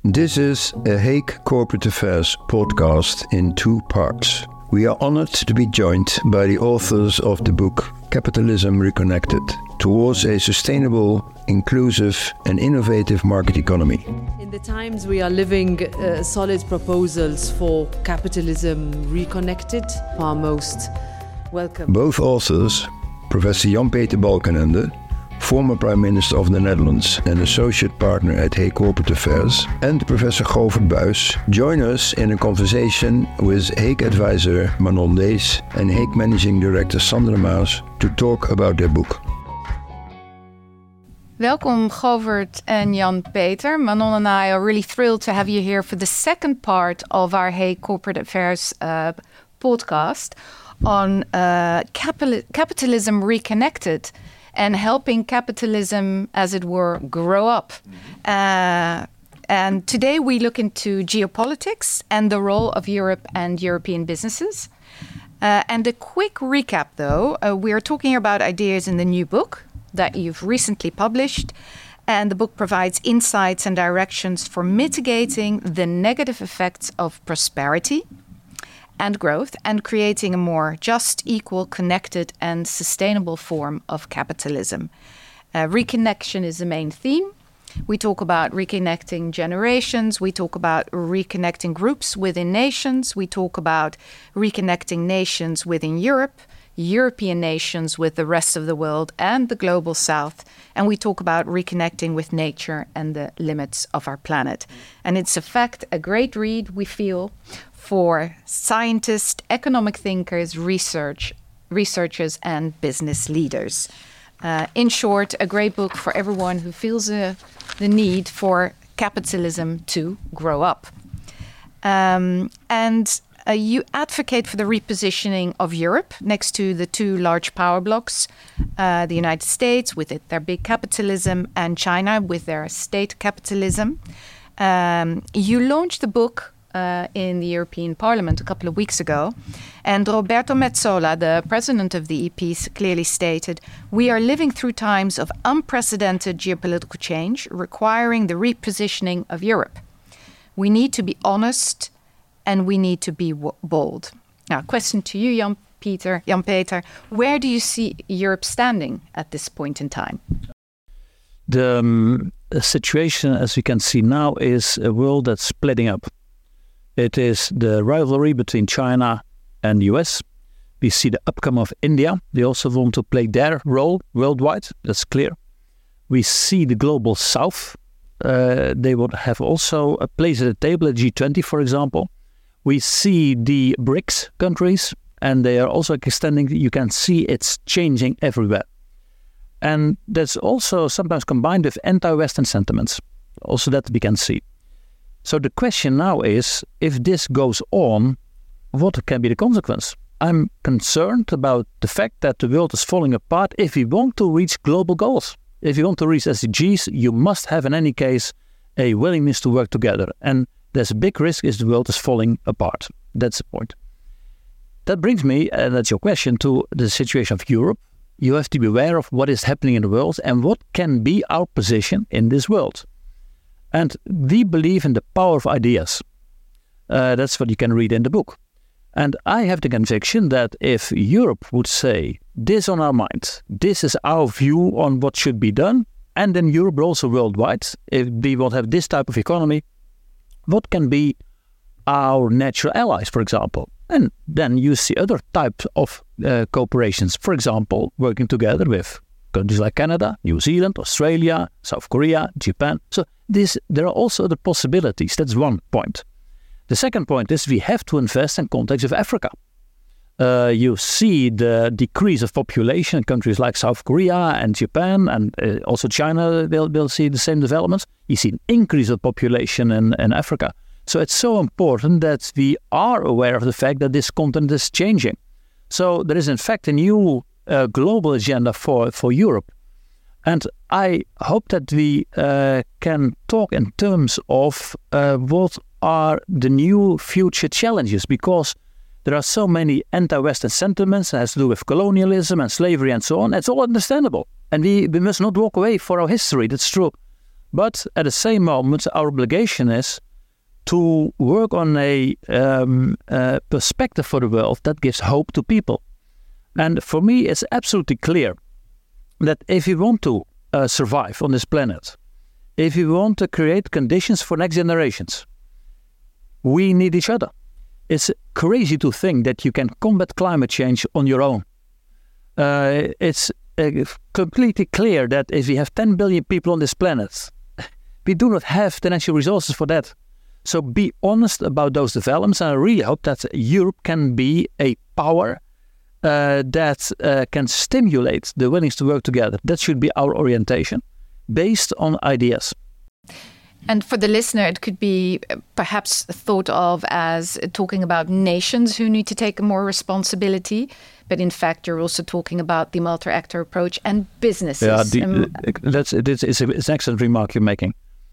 This is a Hague Corporate Affairs podcast in 2 parts. We are honored to be joined by the authors of the book Capitalism Reconnected: Towards a Sustainable, Inclusive and Innovative Market Economy. In the times we are living, solid proposals for capitalism reconnected are most welcome. Both authors, Professor Jan-Peter Balkenende, former Prime Minister of the Netherlands and associate partner at Hague Corporate Affairs, and Professor Govert Buys, join us in a conversation with Hague advisor Manon Dees and Hague Managing Director Sandra Maas to talk about their book. Welcome, Govert and Jan-Peter. Manon and I are really thrilled to have you here for the second part of our Hague Corporate Affairs podcast on capitalism reconnected and helping capitalism, as it were, grow up. And today we look into geopolitics and the role of Europe and European businesses. And a quick recap, though, we are talking about ideas in the new book that you've recently published. And the book provides insights and directions for mitigating the negative effects of prosperity and growth, and creating a more just, equal, connected and sustainable form of capitalism. Reconnection is the main theme. We talk about reconnecting generations. We talk about reconnecting groups within nations. We talk about reconnecting nations within Europe, European nations with the rest of the world and the global south. And we talk about reconnecting with nature and the limits of our planet. And it's, in fact, a great read, we feel, for scientists, economic thinkers, researchers and business leaders. In short, a great book for everyone who feels the need for capitalism to grow up. You advocate for the repositioning of Europe next to the 2 large power blocks, the United States with their big capitalism and China with their state capitalism. You launched the book in the European Parliament a couple of weeks ago. And Roberto Metsola, the president of the EP, clearly stated, "We are living through times of unprecedented geopolitical change, requiring the repositioning of Europe. We need to be honest and we need to be bold." Now, question to you, Jan-Peter, where do you see Europe standing at this point in time? The situation, as we can see now, is a world that's splitting up. It is the rivalry between China and the US. We see the upcoming of India. They also want to play their role worldwide. That's clear. We see the global south. They would have also a place at the table at G20, for example. We see the BRICS countries, and they are also extending. You can see it's changing everywhere. And that's also sometimes combined with anti-Western sentiments. Also that we can see. So the question now is, if this goes on, what can be the consequence? I'm concerned about the fact that the world is falling apart if we want to reach global goals. If you want to reach SDGs, you must have in any case a willingness to work together. And there's a big risk is the world is falling apart. That's the point. That brings me, and that's your question, to the situation of Europe. You have to be aware of what is happening in the world and what can be our position in this world. And we believe in the power of ideas. That's what you can read in the book. And I have the conviction that if Europe would say, this on our mind, this is our view on what should be done, and then Europe, but also worldwide, if we want to have this type of economy, what can be our natural allies, for example? And then you see other types of cooperations, for example, working together with countries like Canada, New Zealand, Australia, South Korea, Japan. So there are also other possibilities. That's one point. The second point is we have to invest in context of Africa. You see the decrease of population in countries like South Korea and Japan, and also China will see the same developments. You see an increase of population in Africa. So it's so important that we are aware of the fact that this continent is changing. So there is in fact a new global agenda for Europe. And I hope that we can talk in terms of what are the new future challenges, because there are so many anti-Western sentiments that has to do with colonialism and slavery and so on. It's all understandable. And we must not walk away for our history. That's true. But at the same moment, our obligation is to work on a perspective for the world that gives hope to people. And for me, it's absolutely clear that if we want to survive on this planet, if we want to create conditions for next generations, we need each other. It's crazy to think that you can combat climate change on your own. It's completely clear that if we have 10 billion people on this planet, we do not have the natural resources for that. So be honest about those developments, and I really hope that Europe can be a power that can stimulate the willingness to work together. That should be our orientation, based on ideas. And for the listener, it could be perhaps thought of as talking about nations who need to take more responsibility. But in fact, you're also talking about the multi-actor approach and businesses. Yeah, it's an excellent remark you're making.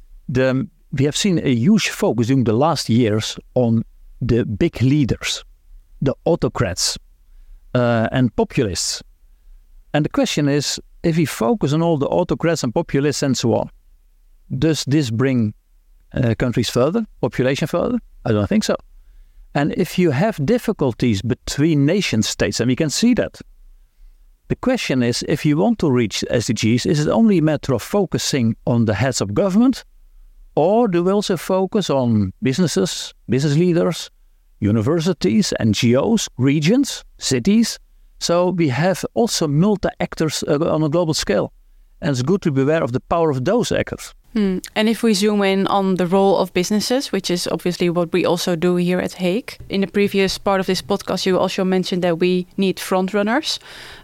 We have seen a huge focus during the last years on the big leaders, the autocrats and populists. And the question is, if we focus on all the autocrats and populists and so on, does this bring countries further, population further? I don't think so. And if you have difficulties between nation states, and we can see that, the question is, if you want to reach SDGs, is it only a matter of focusing on the heads of government, or do we also focus on businesses, business leaders, universities, NGOs, regions, cities? So we have also multi-actors on a global scale. And it's good to be aware of the power of those actors. And if we zoom in on the role of businesses, which is obviously what we also do here at Hague. In the previous part of this podcast, you also mentioned that we need front runners.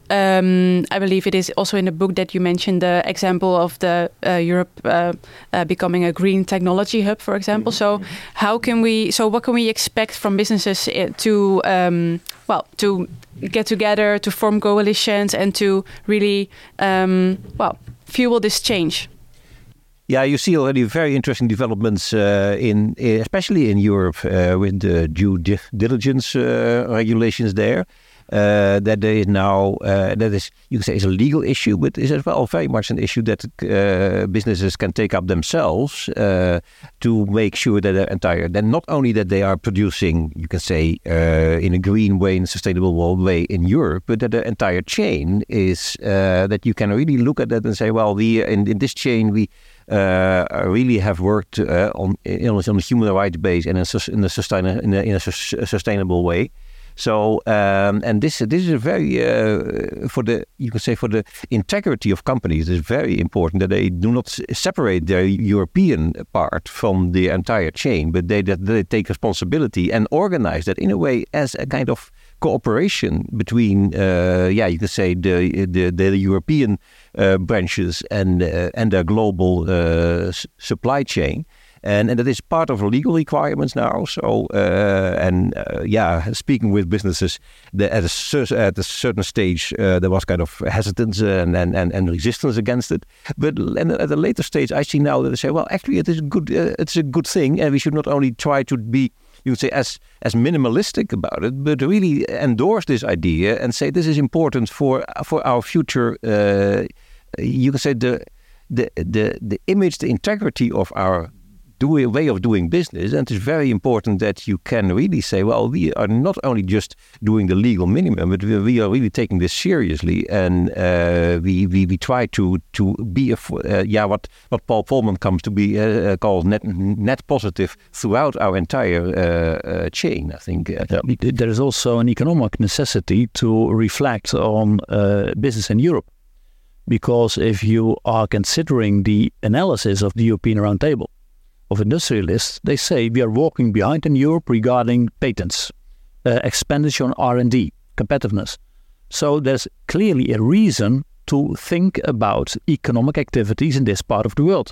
I believe it is also in the book that you mentioned the example of the Europe becoming a green technology hub, for example. So what can we expect from businesses to get together, to form coalitions and to really, fuel this change? Yeah, you see already very interesting developments especially in Europe with the due diligence regulations there. That there is now, that is, you can say, is a legal issue, but is as well very much an issue that businesses can take up themselves to make sure that then not only that they are producing, you can say, in a green way, in a sustainable way in Europe, but that the entire chain is that you can really look at that and say, well, in this chain we really have worked on a human rights base and in a sustainable way. So and this is a very for the integrity of companies, it's very important that they do not separate their European part from the entire chain, but they take responsibility and organize that in a way as a kind of cooperation between you can say the European branches and their global supply chain. And that is part of legal requirements now. So speaking with businesses, at a certain stage there was kind of hesitance and resistance against it. But at a later stage, I see now that they say, well, actually, it is good. It's a good thing, and we should not only try to be, you would say, as minimalistic about it, but really endorse this idea and say this is important for our future. You can say the image, the integrity of our way of doing business, and it's very important that you can really say, well, we are not only just doing the legal minimum, but we are really taking this seriously, and we try to be what Paul Polman comes to be called net positive throughout our entire chain. I think there is also an economic necessity to reflect on business in Europe, because if you are considering the analysis of the European Roundtable of industrialists, they say we are walking behind in Europe regarding patents, expenditure on R&D, competitiveness. So there's clearly a reason to think about economic activities in this part of the world.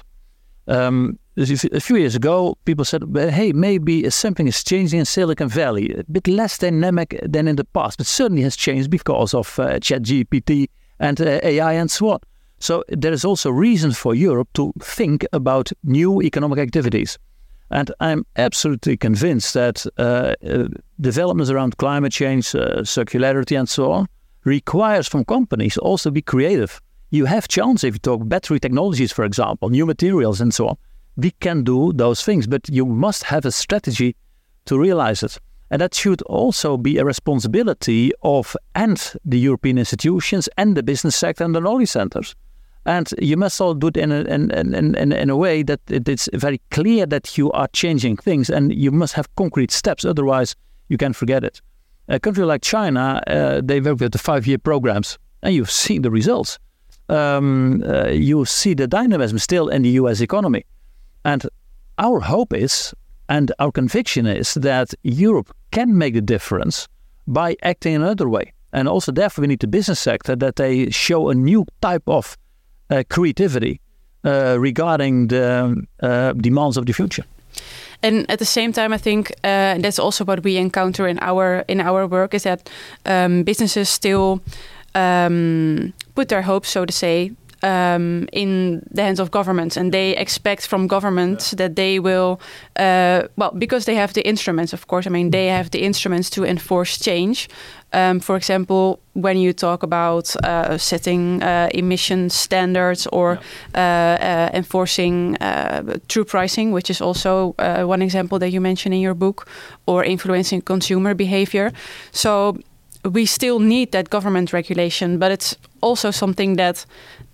A few years ago, people said, well, hey, maybe something is changing in Silicon Valley, a bit less dynamic than in the past, but certainly has changed because of ChatGPT and AI and so on. So there is also reason for Europe to think about new economic activities. And I'm absolutely convinced that developments around climate change, circularity and so on, requires from companies also be creative you have chance if you talk battery technologies, for example, new materials and so on. We can do those things, but you must have a strategy to realize it. And that should also be a responsibility of and the European institutions and the business sector and the knowledge centers. And you must all do it in a way that it's very clear that you are changing things, and you must have concrete steps. Otherwise, you can forget it. A country like China, they work with the 5-year programs, and you've seen the results. You see the dynamism still in the US economy. And our hope is, and our conviction is, that Europe can make the difference by acting in another way. And also, therefore, we need the business sector that they show a new type of creativity regarding the demands of the future. And at the same time, I think that's also what we encounter in our work, is that businesses still put their hopes, so to say, in the hands of governments, and they expect from governments that they will, because they have the instruments, of course. I mean, they have the instruments to enforce change. For example, when you talk about setting emission standards or enforcing true pricing, which is also one example that you mention in your book, or influencing consumer behavior. So we still need that government regulation, but it's also something that,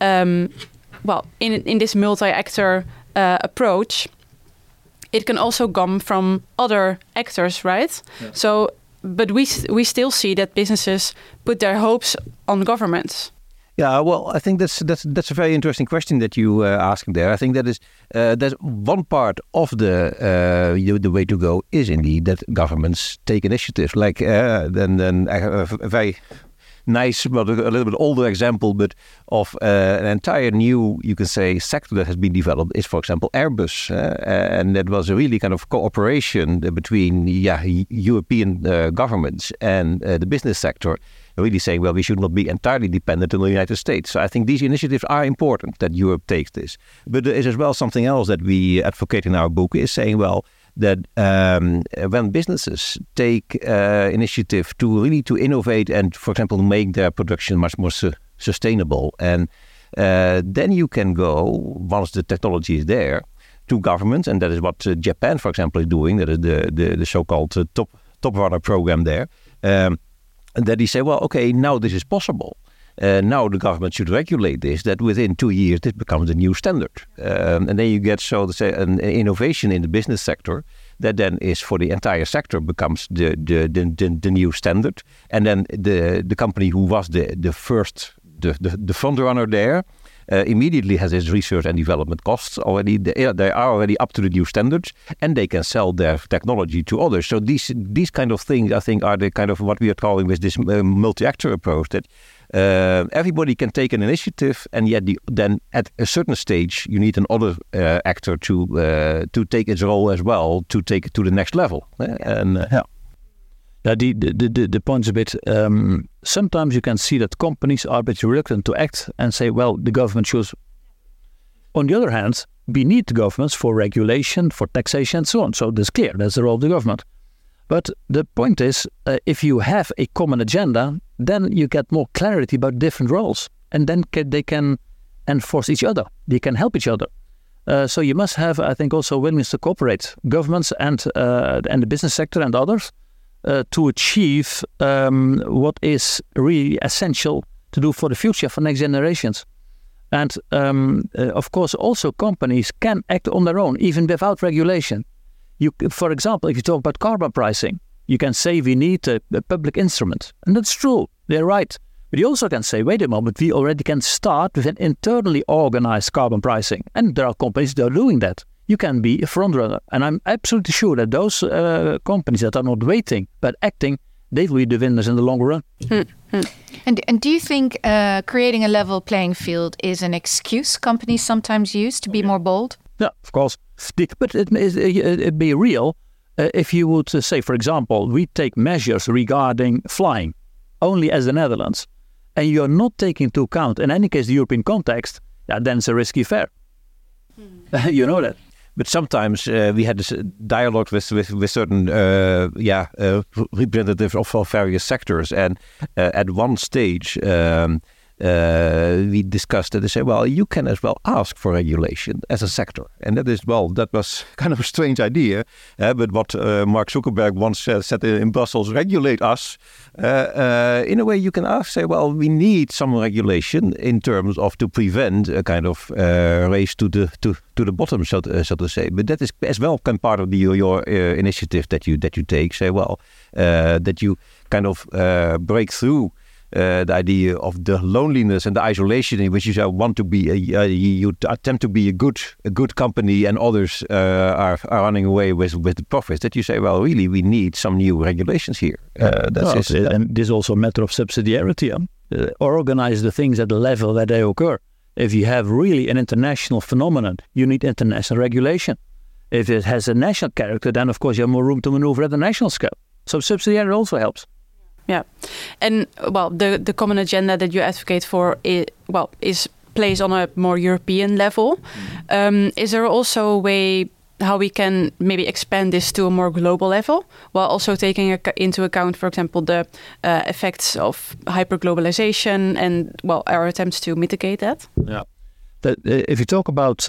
in this multi-actor approach, it can also come from other actors, right? Yeah. So, but we still see that businesses put their hopes on governments. Yeah, well, I think that's a very interesting question that you asking there. I think that is that's one part of the way to go is indeed that governments take initiatives. Like then a very nice, but a little bit older example, but of an entire new, you can say, sector that has been developed is, for example, Airbus, and that was a really kind of cooperation between European governments and the business sector. Really saying, well, we should not be entirely dependent on the United States. So I think these initiatives are important that Europe takes this. But there is as well something else that we advocate in our book, is saying, well, that when businesses take initiative to really to innovate and, for example, make their production much more sustainable, and then you can go, once the technology is there, to governments, and that is what Japan, for example, is doing. That is the so-called Top Runner program there. And that he say, well, okay, now this is possible. Now the government should regulate this, that within 2 years this becomes a new standard. And then you get, so to say, an innovation in the business sector that then is for the entire sector becomes the new standard. And then the company who was the first, the front runner there, immediately has its research and development costs already. They are already up to the new standards, and they can sell their technology to others. So these kind of things, I think, are the kind of what we are calling with this multi-actor approach, that everybody can take an initiative, and yet then at a certain stage you need another actor to take its role as well, to take it to the next level. The point's a bit, sometimes you can see that companies are a bit reluctant to act and say, well, the government should. On the other hand, we need the governments for regulation, for taxation and so on. So that's clear, that's the role of the government. But the point is, if you have a common agenda, then you get more clarity about different roles. And then they can enforce each other. They can help each other. So you must have, I think, also willingness to cooperate, governments and the business sector and others, to achieve what is really essential to do for the future, for next generations. And of course, also companies can act on their own, even without regulation. For example, if you talk about carbon pricing, you can say we need a public instrument. And that's true, they're right. But you also can say, wait a moment, we already can start with an internally organized carbon pricing. And there are companies that are doing that. You can be a frontrunner. And I'm absolutely sure that those companies that are not waiting, but acting, they will be the winners in the long run. And do you think creating a level playing field is an excuse companies sometimes use to be more bold? Yeah, of course. But it'd be real if you would say, for example, we take measures regarding flying only as the Netherlands, and you're not taking into account, in any case, the European context, then it's a risky affair. You know that. But sometimes we had this dialogue with certain representatives of various sectors, and at one stage we discussed that. They say, well, you can as well ask for regulation as a sector. And that was kind of a strange idea. But what Mark Zuckerberg once said in Brussels, regulate us. In a way, you can say, well, we need some regulation in terms of to prevent a kind of race to the bottom, so to say. But that is as well kind of part of your initiative that you take. Say, well, that you kind of break through the idea of the loneliness and the isolation in which you want to be. You attempt to be a good company, and others are running away with the profits. That you say, well, really, we need some new regulations here. And this is also a matter of subsidiarity. Organize the things at the level that they occur. If you have really an international phenomenon, you need international regulation. If it has a national character, then of course you have more room to maneuver at the national scale. So subsidiarity also helps. Yeah, and well, the common agenda that you advocate for is placed on a more European level. Is there also a way how we can maybe expand this to a more global level, while also taking into account, for example, the effects of hyperglobalization and our attempts to mitigate that? Yeah, if you talk about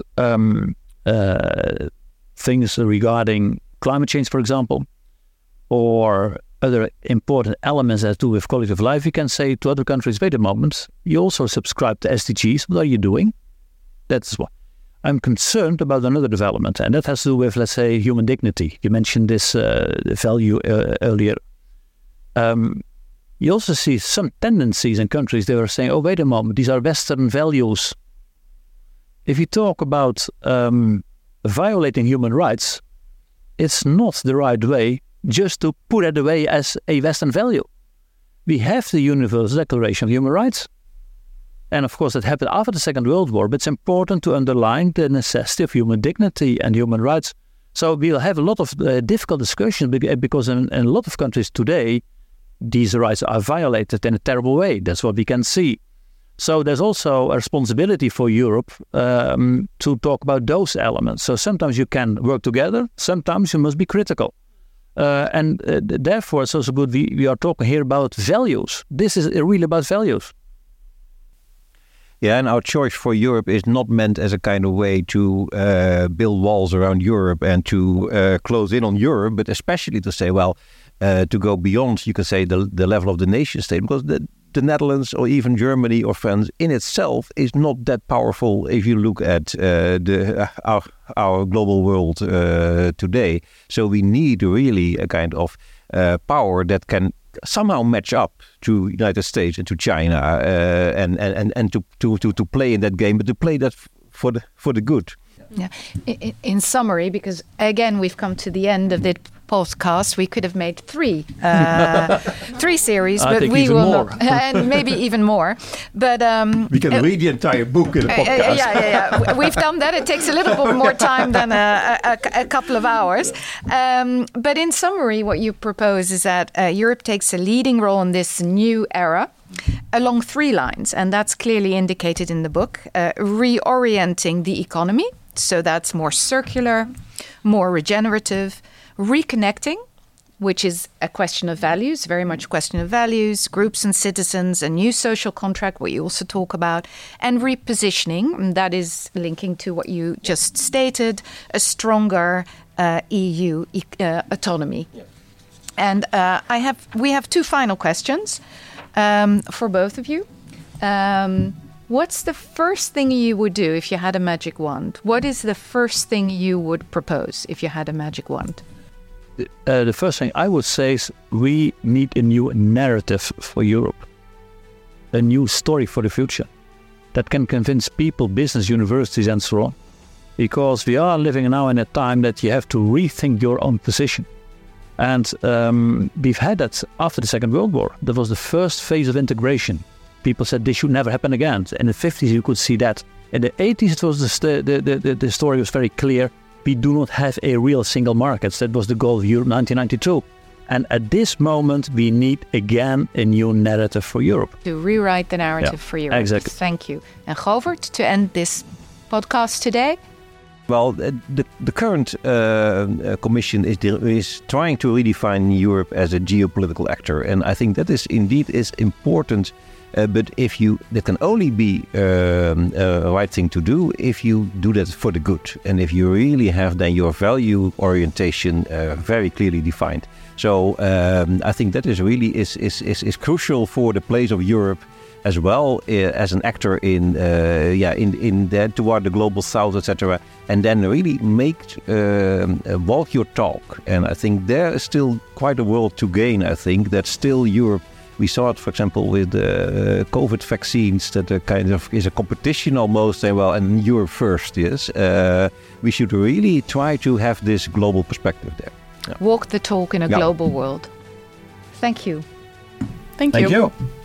things regarding climate change, for example, or other important elements that do with quality of life, you can say to other countries, wait a moment, you also subscribe to SDGs. What are you doing? That's what I'm concerned about. Another development, and that has to do with, let's say, human dignity. You mentioned this value earlier. You also see some tendencies in countries that are saying, oh, wait a moment, these are Western values. If you talk about violating human rights, it's not the right way just to put it away as a Western value. We have the Universal Declaration of Human Rights. And of course, that happened after the Second World War, but it's important to underline the necessity of human dignity and human rights. So we'll have a lot of difficult discussions because in a lot of countries today, these rights are violated in a terrible way. That's what we can see. So there's also a responsibility for Europe to talk about those elements. So sometimes you can work together, sometimes you must be critical. Therefore, it's also good we are talking here about values. This is really about values. Yeah, and our choice for Europe is not meant as a kind of way to build walls around Europe and to close in on Europe, but especially to say, well, to go beyond, you can say, the level of the nation state, because the Netherlands or even Germany or France in itself is not that powerful if you look at our global world today. So we need really a kind of power that can somehow match up to United States and to China and to play in that game, but to play that for the good. Yeah. In summary, because again we've come to the end of the podcast, we could have made three series, but we will not, and maybe even more. But we can read the entire book in a podcast. Yeah. We've done that. It takes a little bit more time than a couple of hours. But in summary, what you propose is that Europe takes a leading role in this new era along three lines, and that's clearly indicated in the book. Reorienting the economy, so that's more circular, more regenerative. Reconnecting, which is a question of values, very much a question of values, groups and citizens, a new social contract, what you also talk about, and repositioning, that is linking to what you just stated, a stronger EU autonomy. Yeah. And we have two final questions for both of you. What's the first thing you would do if you had a magic wand? What is the first thing you would propose if you had a magic wand? The first thing I would say is we need a new narrative for Europe, a new story for the future that can convince people, business, universities and so on. Because we are living now in a time that you have to rethink your own position. And we've had that after the Second World War. That was the first phase of integration. People said this should never happen again. In the 50s you could see that. In the 80s it was the story was very clear. We do not have a real single market. That was the goal of Europe 1992. And at this moment, we need again a new narrative for Europe. To rewrite the narrative for Europe. Exactly. Thank you. And Govert, to end this podcast today? Well, the current Commission is trying to redefine Europe as a geopolitical actor. And I think that is indeed important But that can only be a right thing to do if you do that for the good, and if you really have then your value orientation very clearly defined. So I think that is really is crucial for the place of Europe as well as an actor in that toward the global south, etc. And then really walk your talk. And I think there is still quite a world to gain. I think that still Europe. We saw it, for example, with the COVID vaccines, that there kind of is a competition almost, and Europe first, yes. We should really try to have this global perspective there. Walk the talk in a global world. Thank you. Thank you.